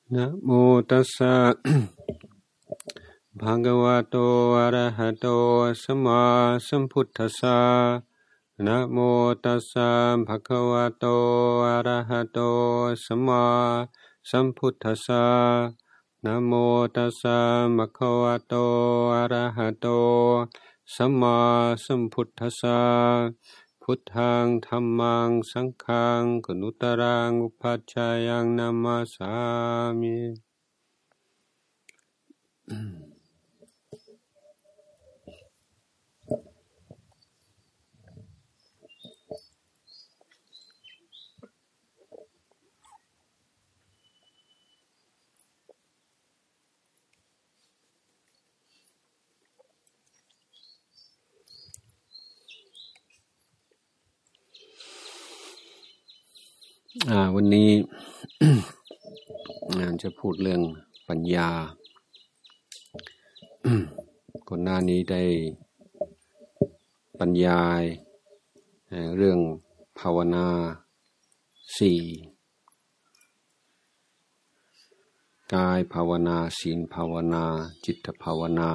นะโมตัสสะ ภะคะวะโตอะระหะโตสัมมาสัมพุทธัสสะนะโมตัสสะภะคะวะโตอะระหะโตสัมมาสัมพุทธัสสะนะโมตัสสะภะคะวะโตอะระหะโตสัมมาสัมพุทธัสสะพุทธังธัมมังสังฆังกุณุตรังอุปัชฌายังนามาสามิวันนี้ จะพูดเรื่องปัญญา ก่อนหน้านี้ได้บรรยายเรื่องภาวนา4กายภาวนาศีลภาวนาจิตภาวนา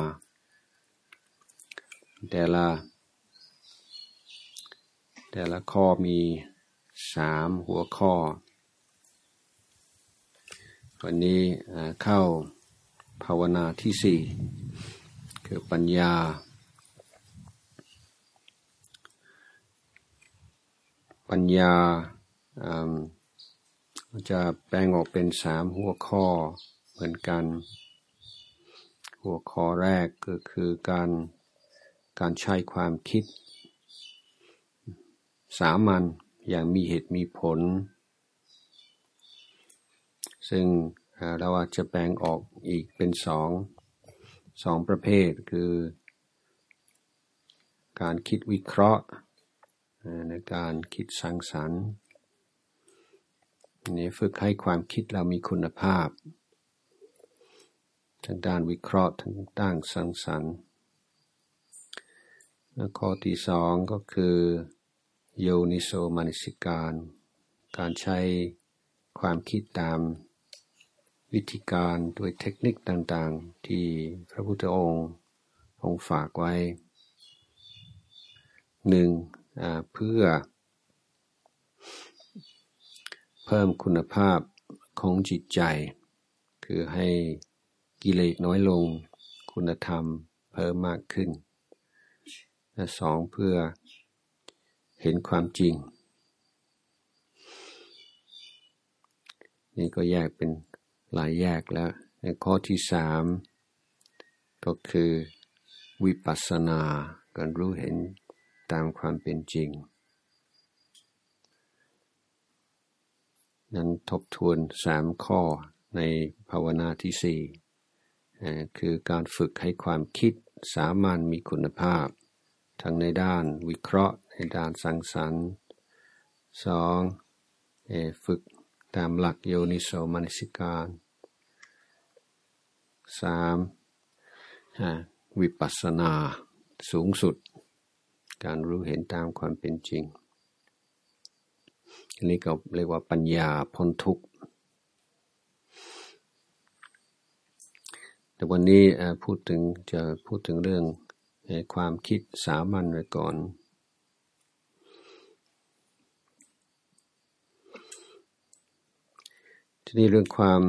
แต่ละข้อมี3หัวข้อวันนี้เข้าภาวนาที่4คือปัญญาจะแบ่งออกเป็น3หัวข้อเหมือนกันหัวข้อแรกก็คือการใช้ความคิดสามัญอย่างมีเหตุมีผลซึ่งเราอาจจะแบ่งออกอีกเป็นสองประเภทคือการคิดวิเคราะห์ในการคิดสร้างสรรค์นี่ฝึกให้ความคิดเรามีคุณภาพทั้งด้านวิเคราะห์ทั้งด้านสร้างสรรค์และข้อที่2ก็คือโยนิโสมนสิการใช้ความคิดตามวิธีการด้วยเทคนิคต่างๆที่พระพุทธองค์ทรงฝากไว้เพื่อเพิ่มคุณภาพของจิตใจคือให้กิเลสน้อยลงคุณธรรมเพิ่มมากขึ้นและ2เพื่อเห็นความจริงนี่ก็แยกเป็นหลายแยกแล้วในข้อที่3ก็คือวิปัสสนาการรู้เห็นตามความเป็นจริงนั้นทบทวน3ข้อในภาวนาที่4คือการฝึกให้ความคิดสามัญมีคุณภาพทั้งในด้านวิเคราะห์ในด้านสร้างสรรค์2ฝึกตามหลักโยนิโสมนสิการ3วิปัสสนาสูงสุดการรู้เห็นตามความเป็นจริงอันนี้ก็เรียกว่าปัญญาพ้นทุกข์แต่วันนี้จะพูดถึงเรื่องความคิดสามัญไว้ก่อนทีนี้เรื่อง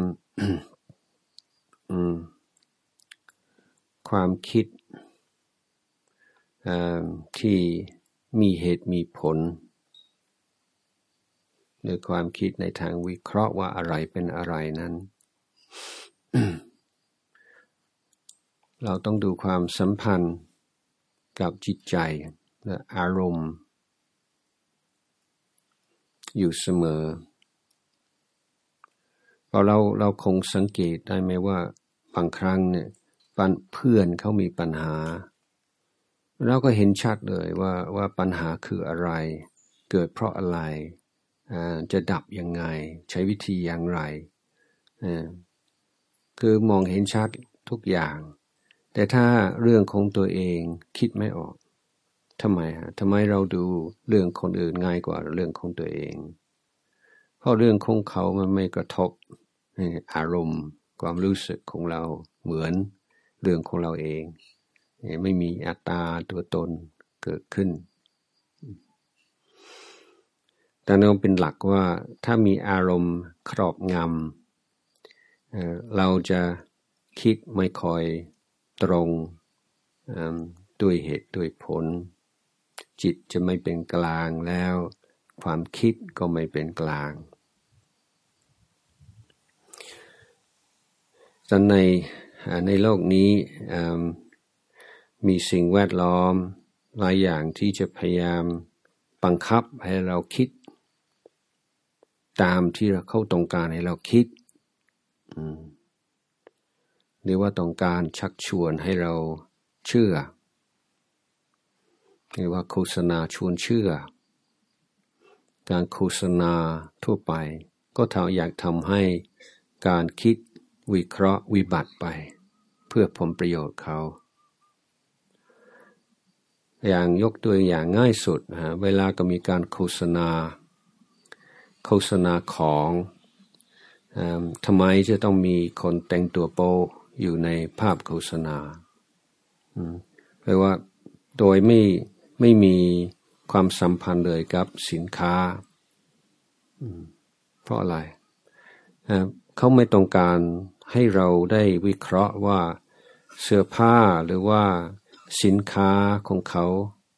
ความคิดที่มีเหตุมีผลหรือความคิดในทางวิเคราะห์ว่าอะไรเป็นอะไรนั้น เราต้องดูความสัมพันธ์กับจิตใจและอารมณ์อยู่เสมอเพราะเราคงสังเกตได้ไหมว่าบางครั้งเนี่ยเพื่อนเขามีปัญหาเราก็เห็นชัดเลยว่าปัญหาคืออะไรเกิดเพราะอะไรจะดับยังไงใช้วิธีอย่างไรคือมองเห็นชัดทุกอย่างแต่ถ้าเรื่องของตัวเองคิดไม่ออกทำไมเราดูเรื่องคนอื่นง่ายกว่าเรื่องของตัวเองเพราะเรื่องของเขามันไม่กระทบอารมณ์ความรู้สึกของเราเหมือนเรื่องของเราเองไม่มีอัตตาตัวตนเกิดขึ้นแต่นั่นเป็นหลักว่าถ้ามีอารมณ์ครอบงำเราจะคิดไม่ค่อยตรงด้วยเหตุด้วยผลจิตจะไม่เป็นกลางแล้วความคิดก็ไม่เป็นกลางแต่ในโลกนี้มีสิ่งแวดล้อมหลายอย่างที่จะพยายามบังคับให้เราคิดตามที่เขาต้องการให้เราคิดหรือว่าต้องการชักชวนให้เราเชื่อหรือว่าโฆษณาชวนเชื่อการโฆษณาทั่วไปก็อยากทำให้การคิดวิเคราะห์วิบัติไปเพื่อผลประโยชน์เขาอย่างยกตัวอย่างง่ายสุดเวลาก็มีการโฆษณาของทำไมจะต้องมีคนแต่งตัวโป๊อยู่ในภาพโฆษณาแปลว่าโดยไม่มีความสัมพันธ์เลยกับสินค้าเพราะอะไรเขาไม่ต้องการให้เราได้วิเคราะห์ว่าเสื้อผ้าหรือว่าสินค้าของเขา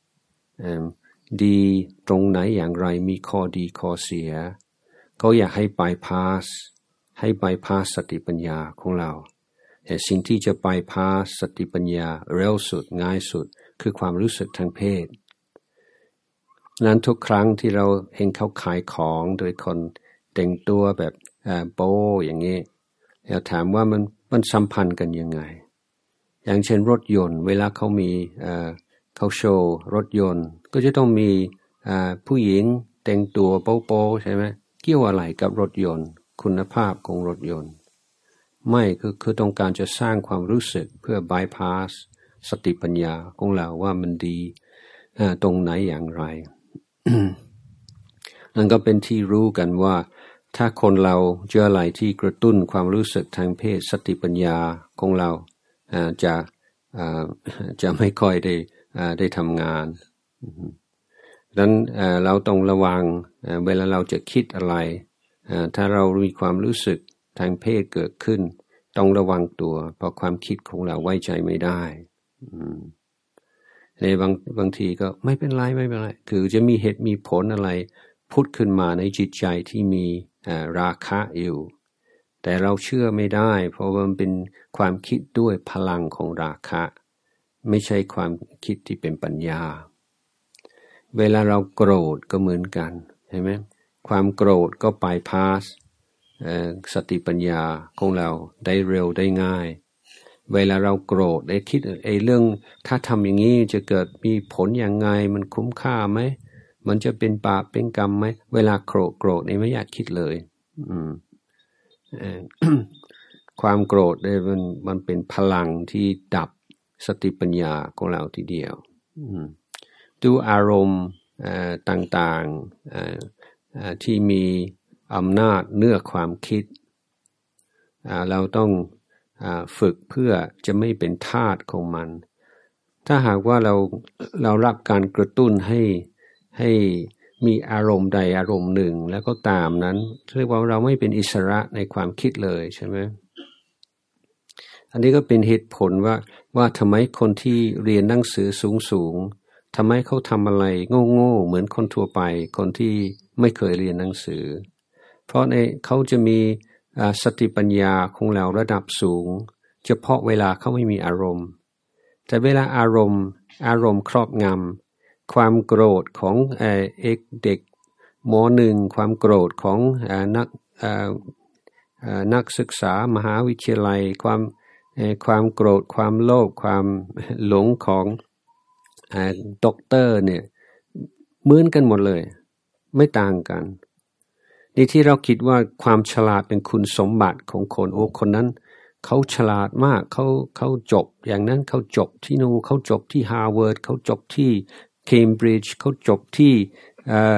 ดีตรงไหนอย่างไรมีข้อดีข้อเสียเขาอยากให้บายพาสสติปัญญาของเราแต่สิ่งที่จะบายพาสสติปัญญาเร็วสุดง่ายสุดคือความรู้สึกทางเพศนั้นทุกครั้งที่เราเห็นเขาขายของโดยคนแต่งตัวแบบโป๊อย่างนี้เราถามว่ามันสัมพันธ์กันยังไงอย่างเช่นรถยนต์เวลาเขามีเขาโชว์รถยนต์ก็จะต้องมีผู้หญิงแต่งตัวโป๊ใช่ไหมเกี่ยวอะไรกับรถยนต์คุณภาพของรถยนต์ไม่คือต้องการจะสร้างความรู้สึกเพื่อบายพาสสติปัญญาของเราว่ามันดีตรงไหนอย่างไร นั่นก็เป็นที่รู้กันว่าถ้าคนเราเจออะไรที่กระตุ้นความรู้สึกทางเพศสติปัญญาของเราจะไม่ค่อยได้ทำงานดังนั้นเราต้องระวังเวลาเราจะคิดอะไรถ้าเรามีความรู้สึกทางเพศเกิดขึ้นต้องระวังตัวเพราะความคิดของเราไว้ใจไม่ได้ในบางทีก็ไม่เป็นไรคือจะมีเหตุมีผลอะไรพุทธขึ้นมาในจิตใจที่มีราคะอยู่แต่เราเชื่อไม่ได้เพราะมันเป็นความคิดด้วยพลังของราคะไม่ใช่ความคิดที่เป็นปัญญาเวลาเราโกรธก็เหมือนกันใช่ไหมความโกรธก็บายพาสสติปัญญาของเราได้เร็วได้ง่ายเวลาเราโกรธได้คิดเรื่องถ้าทำอย่างนี้จะเกิดมีผลอย่างไงมันคุ้มค่าไหมมันจะเป็นบาปเป็นกรรมไหมเวลาโกรธนี่ไม่อยากคิดเลยความโกรธเนี่ยมันเป็นพลังที่ดับสติปัญญาของเราทีเดียวดูอารมณ์ต่างๆที่มีอำนาจเหนือความคิดเราต้องฝึกเพื่อจะไม่เป็นทาสของมันถ้าหากว่าเรารับการกระตุ้นให้มีอารมณ์ใดอารมณ์หนึ่งแล้วก็ตามนั้นเรียกว่าเราไม่เป็นอิสระในความคิดเลยใช่ไหมอันนี้ก็เป็นเหตุผลว่าทำไมคนที่เรียนหนังสือสูงทำไมเขาทำอะไรโง่เหมือนคนทั่วไปคนที่ไม่เคยเรียนหนังสือเพราะเขาจะมีสติปัญญาของเราระดับสูงเฉพาะเวลาเขาไม่มีอารมณ์แต่เวลาอารมณ์ครอบงำความโกรธของเด็กม.1 ความโกรธของนักศึกษามหาวิทยาลัยความโกรธความโลภความหลงของด็อกเตอร์เนี่ยเหมือนกันหมดเลยไม่ต่างกันนี่ที่เราคิดว่าความฉลาดเป็นคุณสมบัติของคนคนนั้นเขาฉลาดมากเขาจบอย่างนั้นเขาจบที่นู่นเขาจบที่ฮาร์วาร์ดเขาจบที่เคมบริดจ์เขาจบที่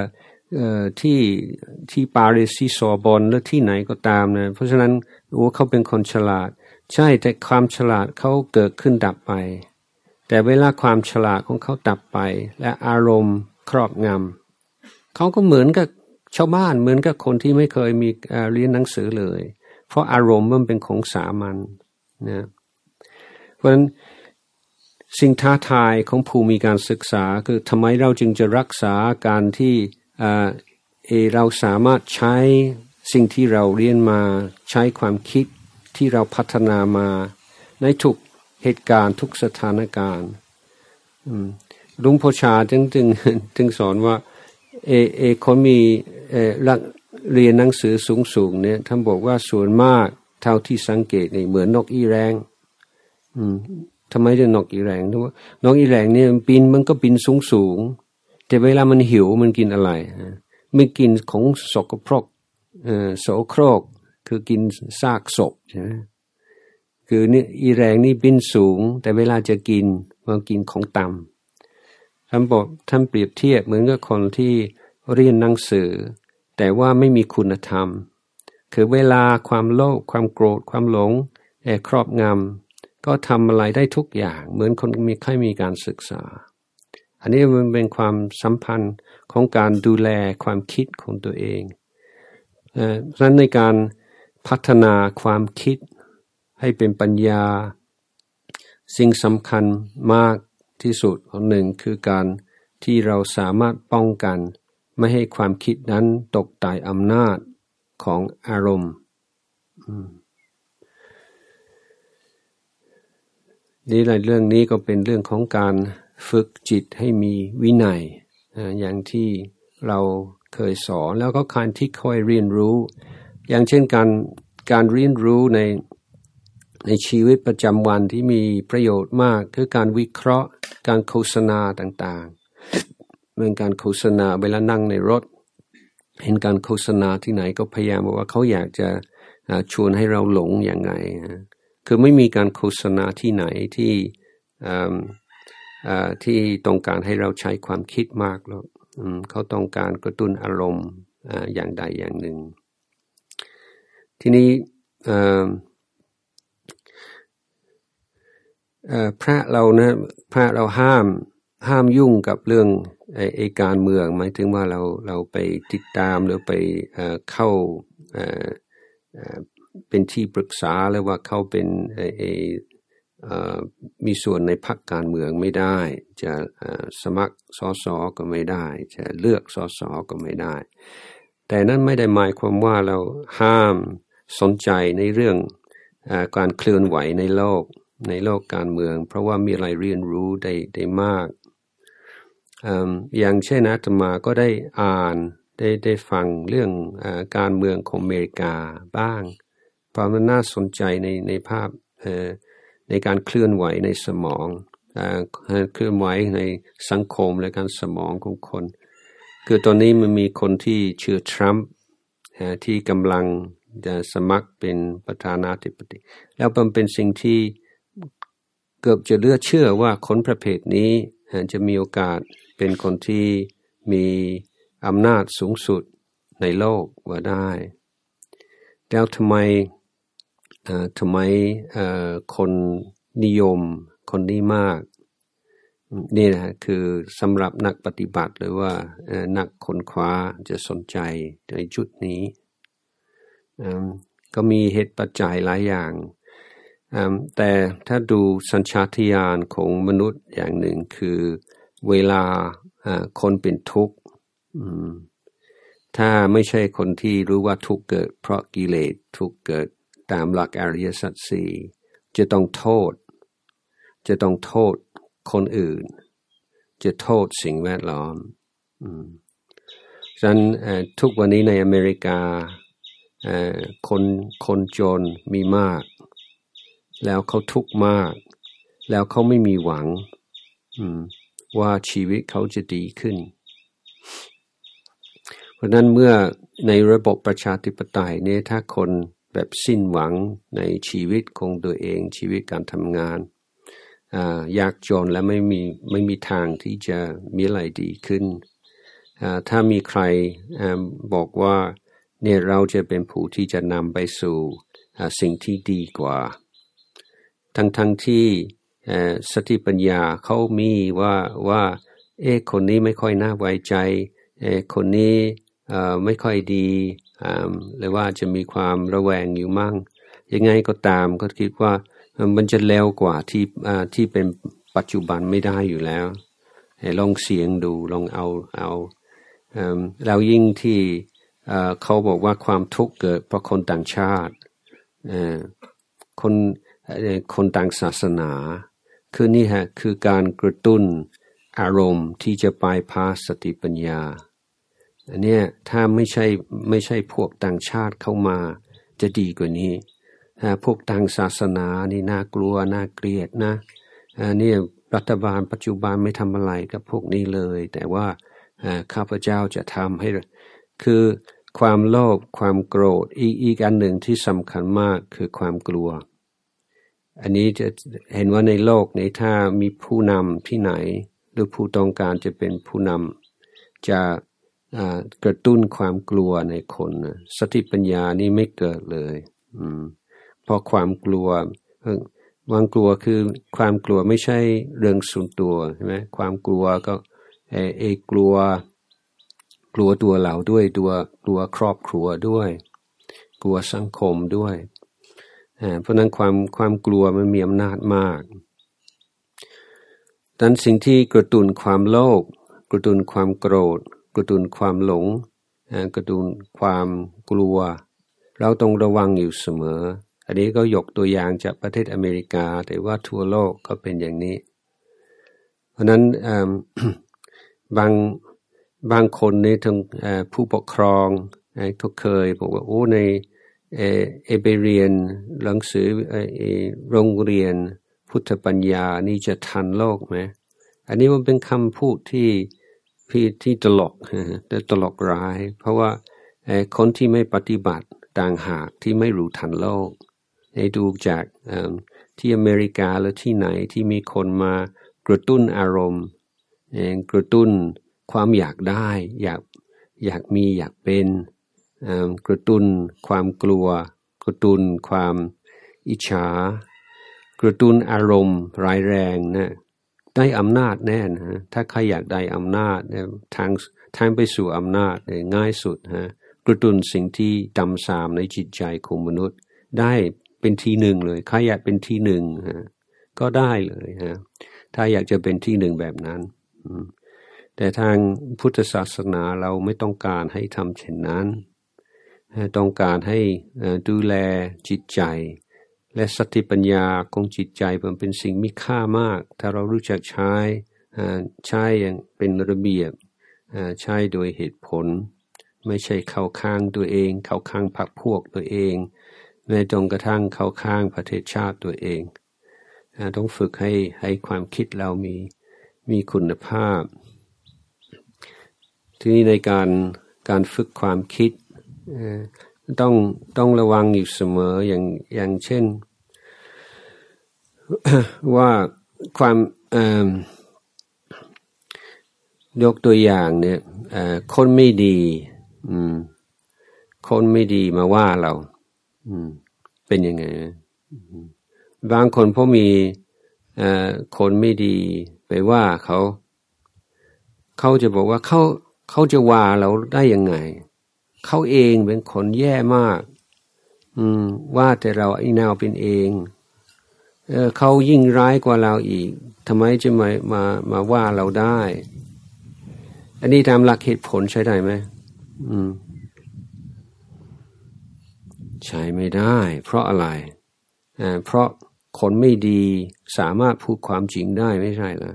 ที่ปารีสที่ซอร์บอนหรือที่ไหนก็ตามนะเพราะฉะนั้นเขาเป็นคนฉลาดใช่แต่ความฉลาดเขาเกิดขึ้นดับไปแต่เวลาความฉลาดของเขาดับไปและอารมณ์ครอบงำเขาก็เหมือนกับชาวบ้านเหมือนกับคนที่ไม่เคยมีเรียนหนังสือเลยเพราะอารมณ์มันเป็นของสามัญนะเพราะฉะนั้นสิ่งท้าทายของผู้มีการศึกษาคือทำไมเราจึงจะรักษาการที่เราสามารถใช้สิ่งที่เราเรียนมาใช้ความคิดที่เราพัฒนามาในทุกเหตุการณ์ทุกสถานการณ์หลวงพ่อชาจึงสอนว่าคนมีเรียนหนังสือสูงเนี่ยท่านบอกว่าส่วนมากเท่าที่สังเกตนี่เหมือนนกอีแรงทำไมจะนกอีแรงเพราะว่านกอีแรงเนี่ยมันก็บินสูงแต่เวลามันหิวมันกินอะไรไม่กินของสกปรกโสโครกคือกินซากศพใช่ไหมคือนี่อีแรงนี่บินสูงแต่เวลาจะกินมันกินของต่ำท่านเปรียบเทียบเหมือนกับคนที่เรียนหนังสือแต่ว่าไม่มีคุณธรรมคือเวลาความโลภความโกรธความหลงครอบงำก็ทำอะไรได้ทุกอย่างเหมือนคนไม่ค่อยมีการศึกษาอันนี้มันเป็นความสัมพันธ์ของการดูแลความคิดของตัวเองเพราะฉะนั้นในการพัฒนาความคิดให้เป็นปัญญาสิ่งสำคัญมากที่สุดของหนึ่งคือการที่เราสามารถป้องกันไม่ให้ความคิดนั้นตกใต้อำนาจของอารมณ์นี่เรื่องนี้ก็เป็นเรื่องของการฝึกจิตให้มีวินัยอย่างที่เราเคยสอนแล้วก็การที่ค่อยเรียนรู้อย่างเช่นการเรียนรู้ในชีวิตประจำวันที่มีประโยชน์มากคือการวิเคราะห์การโฆษณาต่างๆเหมือนการโฆษณาเวลานั่งในรถเห็นการโฆษณาที่ไหนก็พยายามบอกว่าเขาอยากจะชวนให้เราหลงอย่างไงคือไม่มีการโฆษณาที่ไหนที่ต้องการให้เราใช้ความคิดมากหรอกเขาต้องการกระตุ้นอารมณ์อย่างใดอย่างหนึ่งทีนี้พระเราห้ามยุ่งกับเรื่องการเมืองหมายถึงว่าเราไปติดตามหรือไปเข้าเป็นที่ปรึกษาหรือว่าเข้าเป็นมีส่วนในพรรคการเมืองไม่ได้จะสมัครสสก็ไม่ได้จะเลือกสสก็ไม่ได้แต่นั้นไม่ได้หมายความว่าเราห้ามสนใจในเรื่องการเคลื่อนไหวในโลกการเมืองเพราะว่ามีอะไรเรียนรู้ได้มากอย่างเช่นอาตมาก็ได้อ่านได้ฟังเรื่องการเมืองของอเมริกาบ้างเพราะมันน่าสนใจในภาพในการเคลื่อนไหวในสมองเคลื่อนไหวในสังคมและการสมองของคนคือตอนนี้มันมีคนที่ชื่อทรัมป์ที่กำลังจะสมัครเป็นประธานาธิบดีแล้วมันเป็นสิ่งที่เกือบจะเหลือเชื่อว่าคนประเภทนี้จะมีโอกาสเป็นคนที่มีอำนาจสูงสุดในโลกว่าได้แล้วทำไมคนนิยมคนนี้มากนี่นะคือสำหรับนักปฏิบัติหรือว่านักค้นคว้าจะสนใจในจุดนี้ก็มีเหตุปัจจัยหลายอย่างแต่ถ้าดูสัญชาตญาณของมนุษย์อย่างหนึ่งคือเวลาคนเป็นทุกข์ถ้าไม่ใช่คนที่รู้ว่าทุกข์เกิดเพราะกิเลสทุกข์เกิดตามหลักอริยสัจสี่จะต้องโทษคนอื่นจะโทษสิ่งแวดล้อมฉะนั้นทุกวันนี้ในอเมริกาคนจนมีมากแล้วเขาทุกข์มากแล้วเขาไม่มีหวังว่าชีวิตเขาจะดีขึ้นเพราะนั้นเมื่อในระบบประชาธิปไตยเนี่ยถ้าคนแบบสิ้นหวังในชีวิตของตัวเองชีวิตการทำงานยากจนและไม่มีทางที่จะมีอะไรดีขึ้นถ้ามีใครบอกว่าเนี่ยเราจะเป็นผู้ที่จะนำไปสู่สิ่งที่ดีกว่าทั้งที่สติปัญญาเขามีว่าคนนี้ไม่ค่อยน่าไว้ใจคนนี้ไม่ค่อยดีหรือว่าจะมีความระแวงอยู่มั่งยังไงก็ตามก็คิดว่ามันจะเร็วกว่าที่เป็นปัจจุบันไม่ได้อยู่แล้วลองเสียงดูลองเอาเรายิ่งที่เขาบอกว่าความทุกข์เกิดเพราะคนต่างชาติคนต่างศาสนาคือนี่ฮะคือการกระตุ้นอารมณ์ที่จะไปพาสติปัญญาอันนี้ถ้าไม่ใช่พวกต่างชาติเข้ามาจะดีกว่านี้พวกต่างศาสนานี่น่ากลัวน่าเกลียดนะนี่รัฐบาลปัจจุบันไม่ทำอะไรกับพวกนี้เลยแต่ว่าข้าพเจ้าจะทำให้คือความโลภความโกรธอีกอันหนึ่งที่สำคัญมากคือความกลัวอันนี้จะเห็นว่าในโลกนี้ถ้ามีผู้นำที่ไหนหรือผู้ต้องการจะเป็นผู้นำจะกระตุ้นความกลัวในคนสติปัญญานี่ไม่เกิดเลยเพราะความกลัวคือความกลัวไม่ใช่เรื่องส่วนตัวใช่ไหมความกลัวก็กลัวตัวเราด้วยกลัวครอบครัวด้วยกลัวสังคมด้วยเพราะนั้นความกลัวมันมีอำนาจมากดังนั้นสิ่งที่กระตุ้นความโลภกระตุ้นความโกรธกระตุ้นความหลงกระตุ้นความกลัวเราต้องระวังอยู่เสมออันนี้ก็ยกตัวอย่างจากประเทศอเมริกาแต่ว่าทั่วโลกก็เป็นอย่างนี้เพราะนั้นบางคนในทั้งผู้ปกครองก็เคยบอกว่าในไปเรียนหนังสือโรงเรียนพุทธปัญญานี่จะทันโลกไหมอันนี้มันเป็นคำพูดที่ตลกแต่ตลกร้ายเพราะว่าคนที่ไม่ปฏิบัติต่างหากที่ไม่รู้ทันโลกให้ดูจากที่อเมริกาหรือที่ไหนที่มีคนมากระตุ้นอารมณ์กระตุ้นความอยากได้อยากมีอยากเป็นกระตุ้นความกลัวกระตุ้นความอิจฉากระตุ้นอารมณ์ร้ายแรงนะได้อำนาจแน่นะถ้าใครอยากได้อำนาจทางไปสู่อำนาจง่ายสุดกระตุ้นสิ่งที่ต่ำทรามในจิตใจของมนุษย์ได้เป็นที่หนึ่งเลยใครอยากเป็นที่หนึ่งก็ได้เลยถ้าอยากจะเป็นที่หนึ่งแบบนั้นแต่ทางพุทธศาสนาเราไม่ต้องการให้ทำเช่นนั้นต้องการให้ดูแลจิตใจและสติปัญญาของจิตใจมันเป็นสิ่งมีค่ามากถ้าเรารู้จักใช้อย่างเป็นระเบียบใช้โดยเหตุผลไม่ใช่เข้าข้างตัวเองเข้าข้างพรรคพวกตัวเองแม้จนกระทั่งเข้าข้างประเทศชาติตัวเองต้องฝึกให้ความคิดเรามีคุณภาพทีนี้ในการฝึกความคิดต้องระวังอยู่เสมออย่างเช่น ว่าความยกตัวอย่างเนี่ยคนไม่ดีคนไม่ดีมาว่าเราเป็นยังไงบางคนพอมีคนไม่ดีไปว่าเขาจะบอกว่าเขาจะว่าเราได้ยังไงเขาเองเป็นคนแย่มากว่าแต่เราไอ้นาวเป็นเองเขายิ่งร้ายกว่าเราอีกทำไมจะมาว่าเราได้อันนี้ตามหลักเหตุผลใช้ได้ไหมใช้ไม่ได้เพราะอะไรเพราะคนไม่ดีสามารถพูดความจริงได้ไม่ใช่เหรอ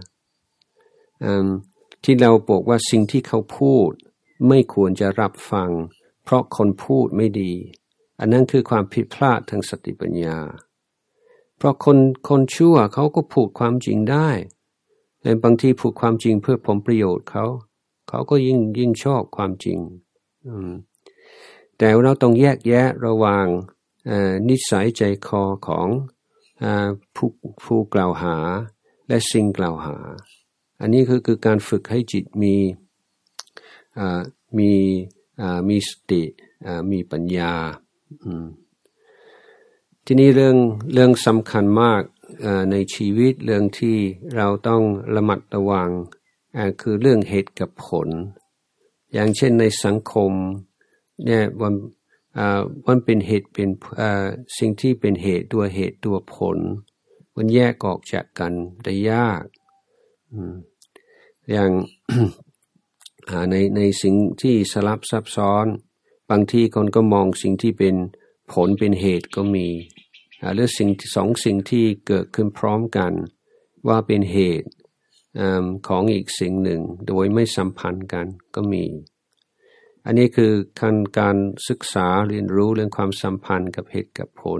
ที่เราบอกว่าสิ่งที่เขาพูดไม่ควรจะรับฟังเพราะคนพูดไม่ดีอันนั้นคือความผิดพลาดทางสติปัญญาเพราะคนชั่วเขาก็พูดความจริงได้แต่บางทีพูดความจริงเพื่อผลประโยชน์เขาก็ยิ่งชอบความจริงแต่เราต้องแยกแยะระหว่างนิสัยใจคอของผู้กล่าวหาและสิ่งกล่าวหาอันนี้คือการฝึกให้จิตมีมีสติมีปัญญาทีนี้เรื่องสำคัญมากในชีวิตเรื่องที่เราต้องระมัดระวังคือเรื่องเหตุกับผลอย่างเช่นในสังคมเนี่ยมันเป็นเหตุเป็นสิ่งที่เป็นเหตุตัวเหตุตัวผลมันแยกออกจากกันได้ยากอย่าง ในสิ่งที่สลับซับซ้อนบางทีคนก็มองสิ่งที่เป็นผลเป็นเหตุก็มีหรือสองสิ่งที่เกิดขึ้นพร้อมกันว่าเป็นเหตุของอีกสิ่งหนึ่งโดยไม่สัมพันธ์กันก็มีอันนี้คือการศึกษาเรียนรู้เรื่องความสัมพันธ์กับเหตุกับผล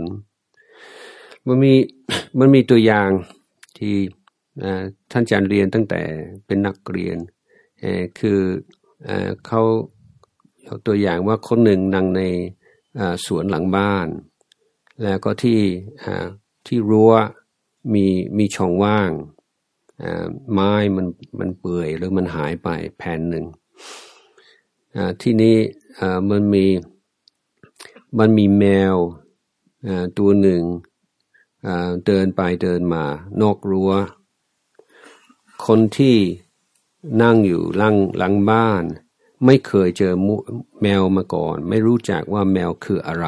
มันมีตัวอย่างที่ท่านอาจารย์เรียนตั้งแต่เป็นนักเรียนคือเขาเอาตัวอย่างว่าคนหนึ่งนั่งในสวนหลังบ้านแล้วก็ที่รั้วมีช่องว่างไม้มันเปื่อยหรือมันหายไปแผ่นหนึ่งที่นี้มันมีแมวตัวหนึ่งเดินไปเดินมานอกรั้วคนที่นั่งอยู่หลังบ้านไม่เคยเจอแมวมาก่อนไม่รู้จักว่าแมวคืออะไร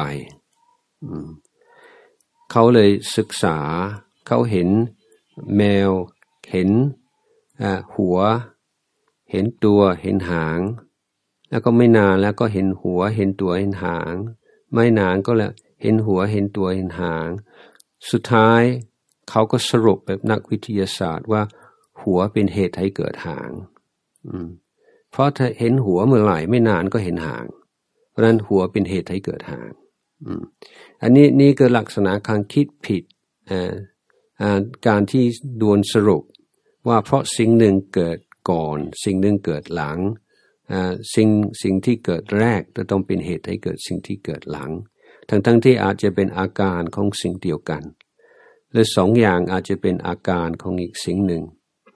เขาเลยศึกษาเขาเห็นแมวเห็นหัวเห็นตัวเห็นหางแล้วก็ไม่นานแล้วก็เห็นหัวเห็นตัวเห็นหางไม่นานก็แล้วเห็นหัวเห็นตัวเห็นหางสุดท้ายเขาก็สรุปแบบนักวิทยาศาสตร์ว่าหัวเป็นเหตุให้เกิดหางเพราะถ้าเห็นหัวเมื่อไหร่ไม่นานก็เห็นหางเพราะนั้นหัวเป็นเหตุให้เกิดหางอันนี้คือลักษณะการคิดผิดการที่ดวนสรุปว่าเพราะสิ่งหนึ่งเกิดก่อนสิ่งหนึ่งเกิดหลังสิ่งที่เกิดแรกจะต้องเป็นเหตุให้เกิดสิ่งที่เกิดหลังทั้งที่อาจจะเป็นอาการของสิ่งเดียวกันหรือสองอย่างอาจจะเป็นอาการของอีกสิ่งหนึ่ง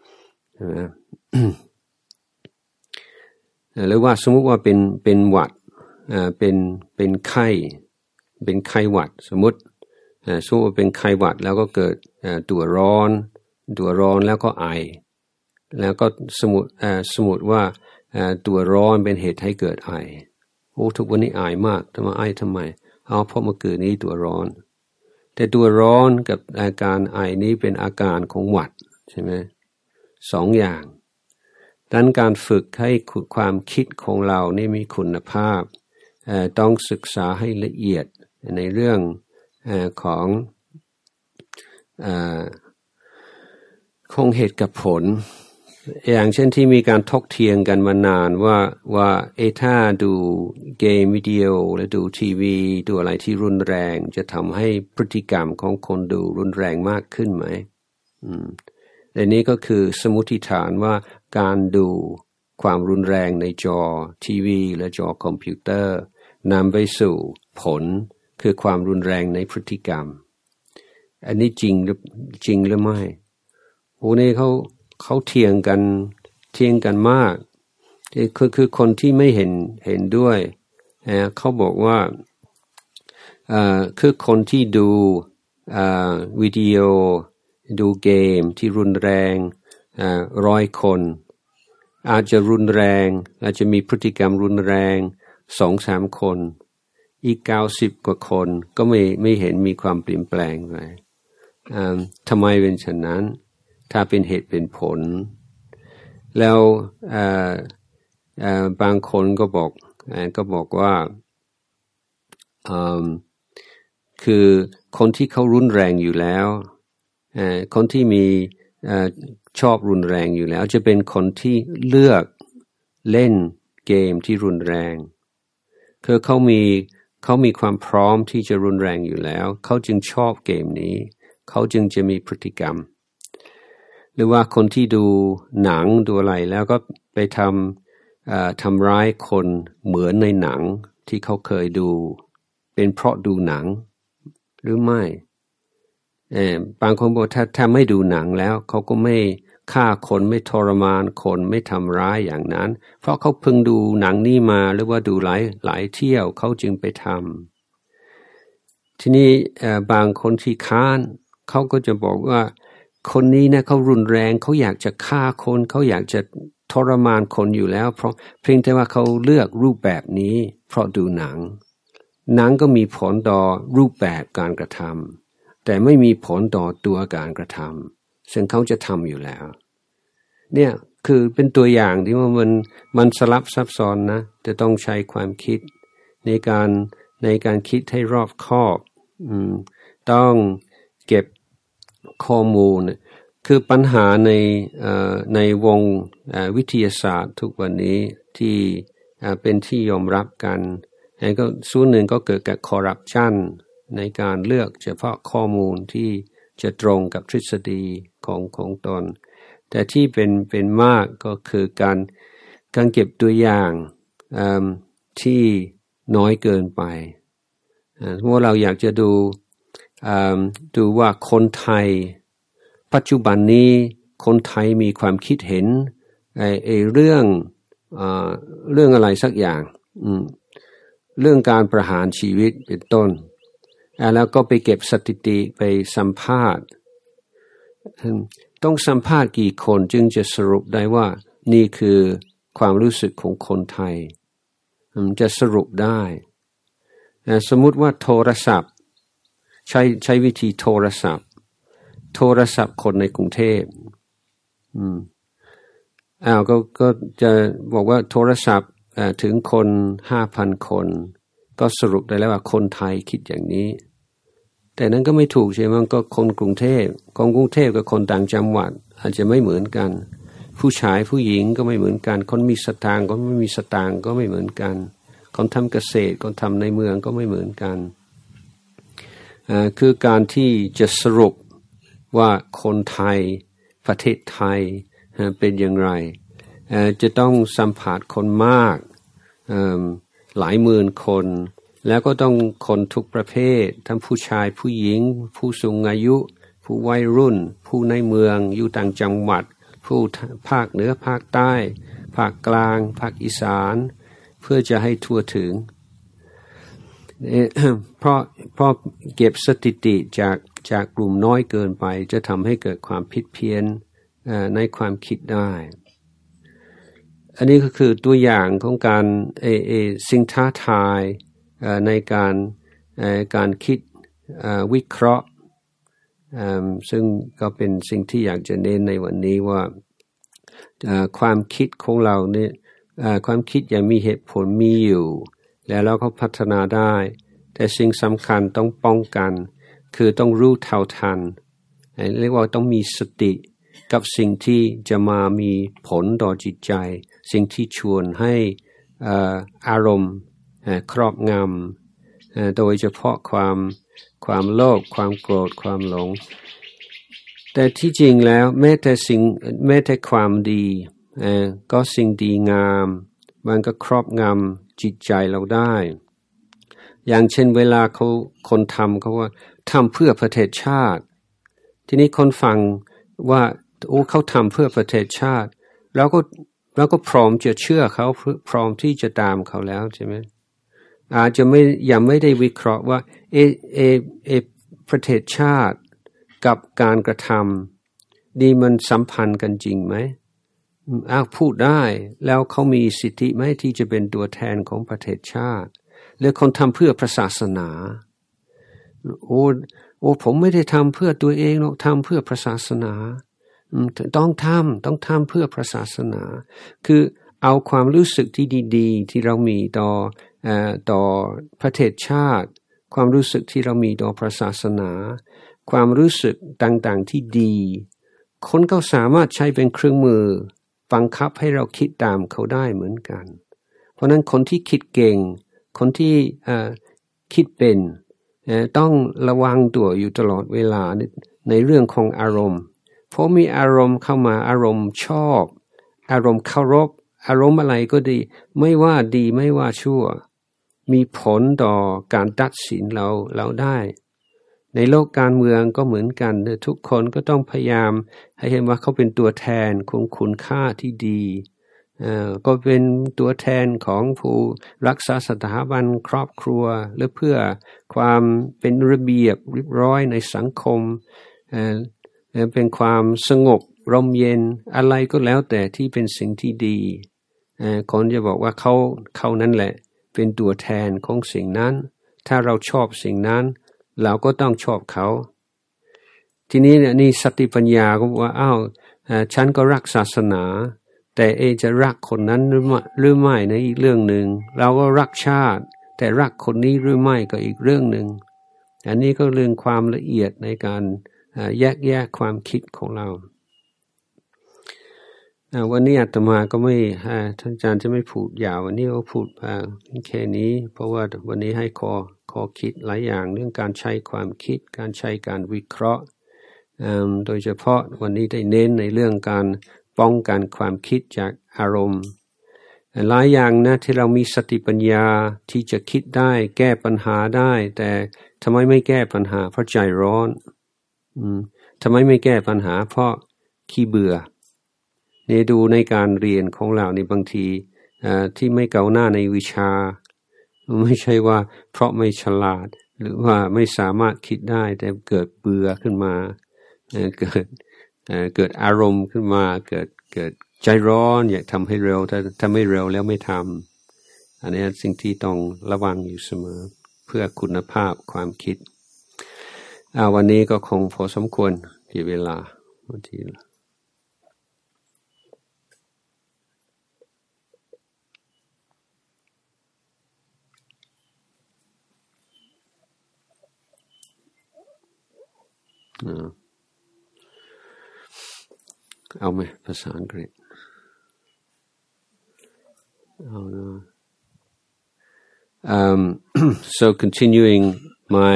หรือว่าสมมุติว่าเป็นหวัดเป็นไข้หวัดสมมุติว่าเป็นไข้หวัดแล้วก็เกิดตัวร้อนแล้วก็ไอแล้วก็สมมุติว่าตัวร้อนเป็นเหตุให้เกิดไอทุกวันนี้ไอมากทำไมเพราะเมื่อคืนนี้ตัวร้อนแต่ตัวร้อนกับอาการไอนี้เป็นอาการของหวัดใช่ไหมสองอย่างดังนั้นการฝึกให้ความคิดของเรานี่มีคุณภาพต้องศึกษาให้ละเอียดในเรื่องของเหตุกับผลอย่างเช่นที่มีการถกเถียงกันมานานว่าถ้าดูเกมวิดีโอหรือดูทีวีดูอะไรที่รุนแรงจะทำให้พฤติกรรมของคนดูรุนแรงมากขึ้นไหมแต่นี้ก็คือสมมุติฐานว่าการดูความรุนแรงในจอทีวีและจอคอมพิวเตอร์นำไปสู่ผลคือความรุนแรงในพฤติกรรมอันนี้จริงหรือไม่นี่เขาเถียงกันมากคือคนที่ไม่เห็นด้วยเขาบอกว่าคือคนที่ดูวิดีโอดูเกมที่รุนแรง100 คนอาจจะรุนแรงอาจจะมีพฤติกรรมรุนแรง 2-3 คนอีก90 กว่าคนก็ไม่เห็นมีความเปลี่ยนแปลงเลยทำไมเป็นเช่นนั้นถ้าเป็นเหตุเป็นผลแล้วบางคนก็บอกว่าคือคนที่เขารุนแรงอยู่แล้วคนที่มีชอบรุนแรงอยู่แล้วจะเป็นคนที่เลือกเล่นเกมที่รุนแรงคือเขามีความพร้อมที่จะรุนแรงอยู่แล้วเขาจึงชอบเกมนี้เขาจึงจะมีพฤติกรรมหรือว่าคนที่ดูหนังดูอะไรแล้วก็ไปทำร้ายคนเหมือนในหนังที่เขาเคยดูเป็นเพราะดูหนังหรือไม่บางคนบอกถ้าไม่ดูหนังแล้วเขาก็ไม่ฆ่าคนไม่ทรมานคนไม่ทำร้ายอย่างนั้นเพราะเขาเพิ่งดูหนังนี้มาหรือว่าดูหลายเที่ยวเขาจึงไปทำทีนี้บางคนที่ค้านเขาก็จะบอกว่าคนนี้นะเขารุนแรงเขาอยากจะฆ่าคนเขาอยากจะทรมานคนอยู่แล้วเพราะเพียงแต่ว่าเขาเลือกรูปแบบนี้เพราะดูหนังก็มีผลต่อรูปแบบการกระทำแต่ไม่มีผลต่อตัวการกระทำซึ่งเขาจะทำอยู่แล้วเนี่ยคือเป็นตัวอย่างที่ว่ามันสลับซับซ้อนนะจะต้องใช้ความคิดในการคิดให้รอบคอบต้องเก็บข้อมูลคือปัญหาในวงวิทยาศาสตร์ทุกวันนี้ที่เป็นที่ยอมรับกันก็ส่วนหนึ่งก็เกิดจากคอร์รัปชันในการเลือกเฉพาะข้อมูลที่จะตรงกับทฤษฎีของตนแต่ที่เป็นมากก็คือการเก็บตัวอย่างที่น้อยเกินไปเพราะเราอยากจะดูว่าคนไทยปัจจุบันนี้คนไทยมีความคิดเห็นเรื่องอะไรสักอย่างเรื่องการประหารชีวิตเป็นต้นแล้วก็ไปเก็บสถิติไปสัมภาษณ์ต้องสัมภาษณ์กี่คนจึงจะสรุปได้ว่านี่คือความรู้สึกของคนไทยจะสรุปได้สมมุติว่าโทรศัพท์ใช้วิธีโทรศัพท์คนในกรุงเทพก็จะบอกว่าโทรศัพท์ถึงคน 5,000 คนก็สรุปได้แล้วว่าคนไทยคิดอย่างนี้แต่นั้นก็ไม่ถูกใช่ไหมก็คนกรุงเทพกับคนต่างจังหวัดอาจจะไม่เหมือนกันผู้ชายผู้หญิงก็ไม่เหมือนกันคนมีสตางค์คนไม่มีสตางค์ก็ไม่เหมือนกันคนทำเกษตรคนทำในเมืองก็ไม่เหมือนกันคือการที่จะสรุปว่าคนไทยประเทศไทยเป็นอย่างไรจะต้องสัมผัสคนมากหลายหมื่นคนแล้วก็ต้องคนทุกประเภททั้งผู้ชายผู้หญิงผู้สูงอายุผู้วัยรุ่นผู้ในเมืองอยู่ต่างจังหวัดผู้ภาคเหนือภาคใต้ภาคกลางภาคอีสานเพื่อจะให้ทั่วถึงเพราะเก็บสถิติจากกลุ่มน้อยเกินไปจะทำให้เกิดความผิดเพี้ยนในความคิดได้อันนี้ก็คือตัวอย่างของการสิ่งท้าทายในการคิดวิเคราะห์ซึ่งก็เป็นสิ่งที่อยากจะเน้นในวันนี้ว่าความคิดของเราเนี่ยความคิดอย่างมีเหตุผลมีอยู่แล้วเราก็พัฒนาได้แต่สิ่งสำคัญต้องป้องกันคือต้องรู้เท่าทันเรียกว่าต้องมีสติกับสิ่งที่จะมามีผลต่อจิตใจสิ่งที่ชวนให้อารมณ์ครอบงำโดยเฉพาะความโลภความโกรธความหลงแต่ที่จริงแล้วแม้แต่ความดีก็สิ่งดีงามมันก็ครอบงำจิตใจเราได้อย่างเช่นเวลาคนทำเขาว่าทำเพื่อประเทศชาติทีนี้คนฟังว่าเขาทำเพื่อประเทศชาติเราก็พร้อมจะเชื่อเขาพร้อมที่จะตามเขาแล้วใช่ไหมอาจจะยังไม่ได้วิเคราะห์ว่าประเทศชาติกับการกระทำนี่มันสัมพันธ์กันจริงไหมพูดได้แล้วเขามีสิทธิไหมที่จะเป็นตัวแทนของประเทศชาติหรือคนทำเพื่อพระศาสนาผมไม่ได้ทำเพื่อตัวเองหรอกทำเพื่อพระศาสนาต้องทำเพื่อพระศาสนาคือเอาความรู้สึกที่ดีๆที่เรามีต่อประเทศชาติความรู้สึกที่เรามีต่อพระศาสนาความรู้สึกต่างๆที่ดีคนก็สามารถใช้เป็นเครื่องมือบังคับให้เราคิดตามเขาได้เหมือนกันเพราะนั้นคนที่คิดเก่งคนที่คิดเป็นต้องระวังตัวอยู่ตลอดเวลาในเรื่องของอารมณ์เพราะมีอารมณ์เข้ามาอารมณ์ชอบอารมณ์เคารพอารมณ์อะไรก็ดีไม่ว่าดีไม่ว่าชั่วมีผลต่อการตัดสินเราได้ในโลกการเมืองก็เหมือนกันทุกคนก็ต้องพยายามให้เห็นว่าเขาเป็นตัวแทนของคุณค่าที่ดีก็เป็นตัวแทนของผู้รักษาสถาบันครอบครัวหรือเพื่อความเป็นระเบียบเรียบร้อยในสังคมเป็นความสงบร่มเย็นอะไรก็แล้วแต่ที่เป็นสิ่งที่ดีคนจะบอกว่าเขานั่นแหละเป็นตัวแทนของสิ่งนั้นถ้าเราชอบสิ่งนั้นเราก็ต้องชอบเขาทีนี้เนี่ยนี่สติปัญญาก็บอกว่าฉันก็รักศาสนาแต่จะรักคนนั้นหรือไม่ในอีกเรื่องหนึ่งเราก็รักชาติแต่รักคนนี้หรือไม่ก็อีกเรื่องหนึ่งอันนี้ก็เรื่องความละเอียดในการแยกแยะความคิดของเราวันนี้อาตมาก็ไม่ท่านอาจารย์จะไม่พูดยาววันนี้ก็พูดแค่นี้เพราะว่าวันนี้ให้ข้อคิดหลายอย่างเรื่องการใช้ความคิดการใช้การวิเคราะห์โดยเฉพาะวันนี้ได้เน้นในเรื่องการป้องกันความคิดจากอารมณ์หลายอย่างนะที่เรามีสติปัญญาที่จะคิดได้แก้ปัญหาได้แต่ทำไมไม่แก้ปัญหาเพราะใจร้อนทำไมไม่แก้ปัญหาเพราะขี้เบื่อเนี่ยดูในการเรียนของเราในบางทีที่ไม่ก้าวหน้าในวิชาไม่ใช่ว่าเพราะไม่ฉลาดหรือว่าไม่สามารถคิดได้แต่เกิดเบื่อขึ้นมาเกิดอารมณ์ขึ้นมาเกิดใจร้อนอยากทำให้เร็วถ้าไม่เร็วแล้วไม่ทำอันนี้สิ่งที่ต้องระวังอยู่เสมอเพื่อคุณภาพความคิดวันนี้ก็คงพอสมควรที่เวลาวันที่เอาไหมภาษาอังกฤษเอานะ so continuing my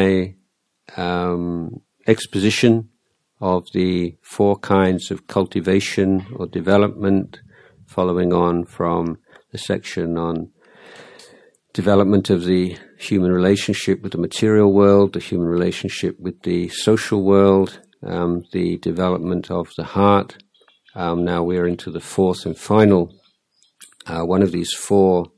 exposition of the 4 kinds of cultivation or development following on from the section on development of the human relationship with the material world, the human relationship with the social world, the development of the heart. Now we're into the 4th and final one of these 4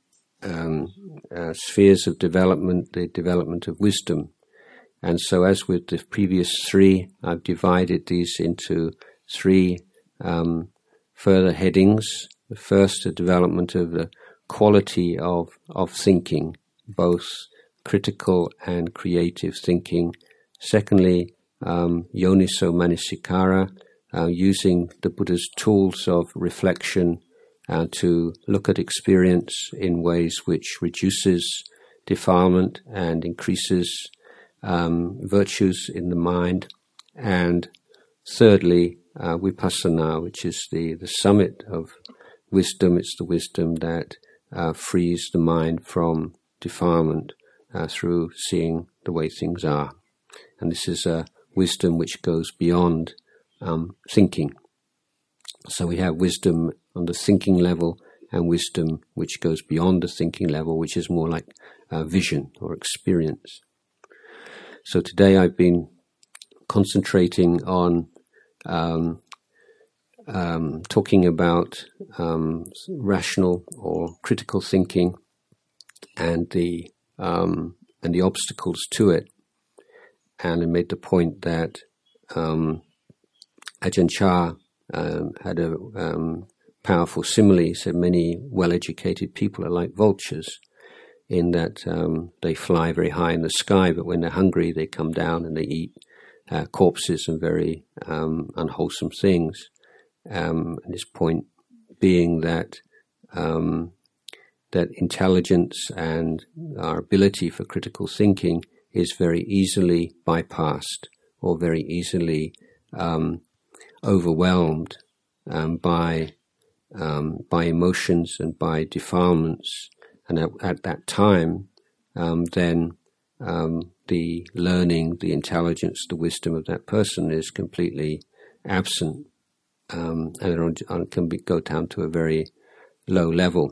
spheres of development, the development of wisdom. And so as with the previous 3, I've divided these into 3 further headings. The first, the development of the quality of thinking, both critical and creative thinking. Secondly, yoniso manasikara, using the Buddha's tools of reflection to look at experience in ways which reduces defilement and increases virtues in the mind. And thirdly, vipassana, which is the summit of wisdom. It's the wisdom that frees the mind from defilement through seeing the way things are. And this is a wisdom which goes beyond thinking. So we have wisdom on the thinking level and wisdom which goes beyond the thinking level, which is more like vision or experience. So today I've been concentrating on talking about rational or critical thinking and the obstacles to it. And I made the point that Ajahn Chah had a powerful simile. He said many well-educated people are like vultures in that they fly very high in the sky, but when they're hungry they come down and they eat corpses and very unwholesome things. And his point being that that intelligence and our ability for critical thinking is very easily bypassed or very easily overwhelmed by emotions and by defilements, and at that time, then the learning, the intelligence, the wisdom of that person is completely absent, and it can go down to a very low level.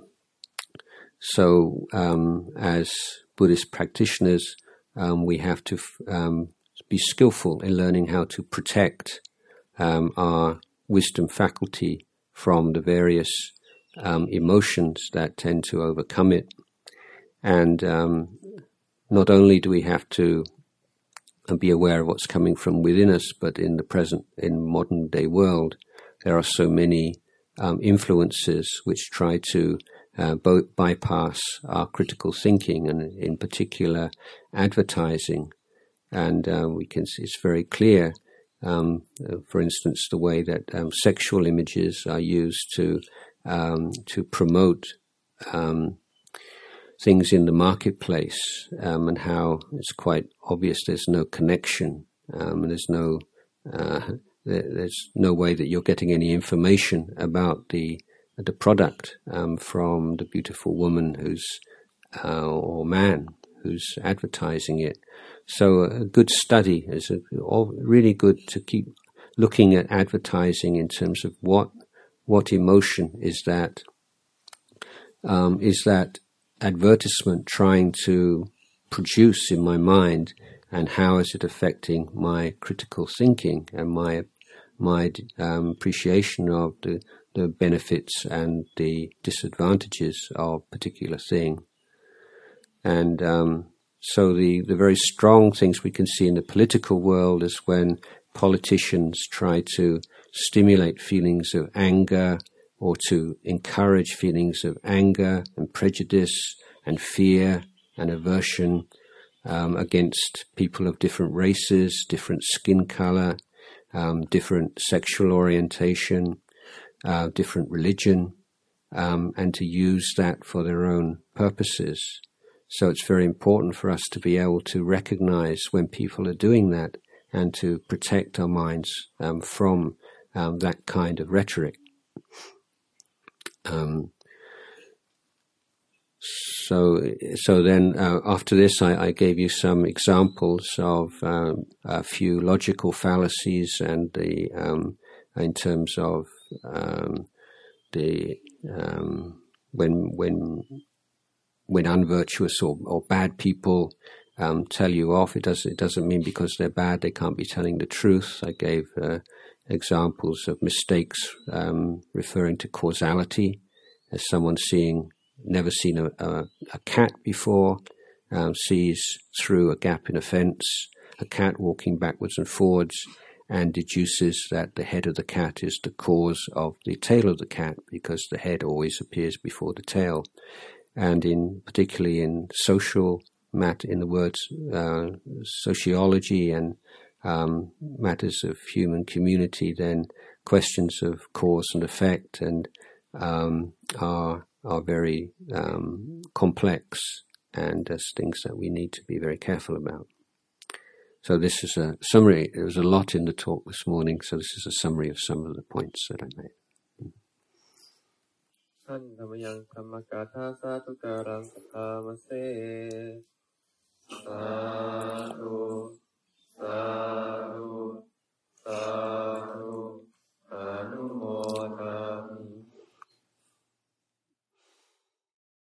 So, as Buddhist practitioners, we have to be skillful in learning how to protect our wisdom faculty from the various emotions that tend to overcome it. And not only do we have to be aware of what's coming from within us, but in modern day world, there are so many influences which try to both bypass our critical thinking, and in particular advertising. And we can see it's very clear, for instance, the way that sexual images are used to promote things in the marketplace, and how it's quite obvious there's no connection, and there's no way that you're getting any information about the product from the beautiful woman or man who's advertising it. So a good study is really good to keep looking at advertising in terms of what emotion is that advertisement trying to produce in my mind, and how is it affecting my critical thinking and my appreciation of the benefits and the disadvantages of a particular thing. And so the very strong things we can see in the political world is when politicians try to stimulate feelings of anger, or to encourage feelings of anger and prejudice and fear and aversion against people of different races, different skin color, different sexual orientation, different religion, and to use that for their own purposes. So it's very important for us to be able to recognize when people are doing that, and to protect our minds from that kind of rhetoric. So then after this, I gave you some examples of a few logical fallacies, and in terms of when unvirtuous or bad people tell you off, it doesn't mean because they're bad they can't be telling the truth. I gave examples of mistakes referring to causality, as someone never seen a cat before, sees through a gap in a fence a cat walking backwards and forwards, and deduces that the head of the cat is the cause of the tail of the cat, because the head always appears before the tail. And particularly in in the words sociology and matters of human community, then questions of cause and effect and are very complex, and as things that we need to be very careful about. So this is a summary. There was a lot in the talk this morning, so this is a summary of some of the points that I made. ท่านธรรมยังธรรมกาธาสาธุการังสัทธามเสสา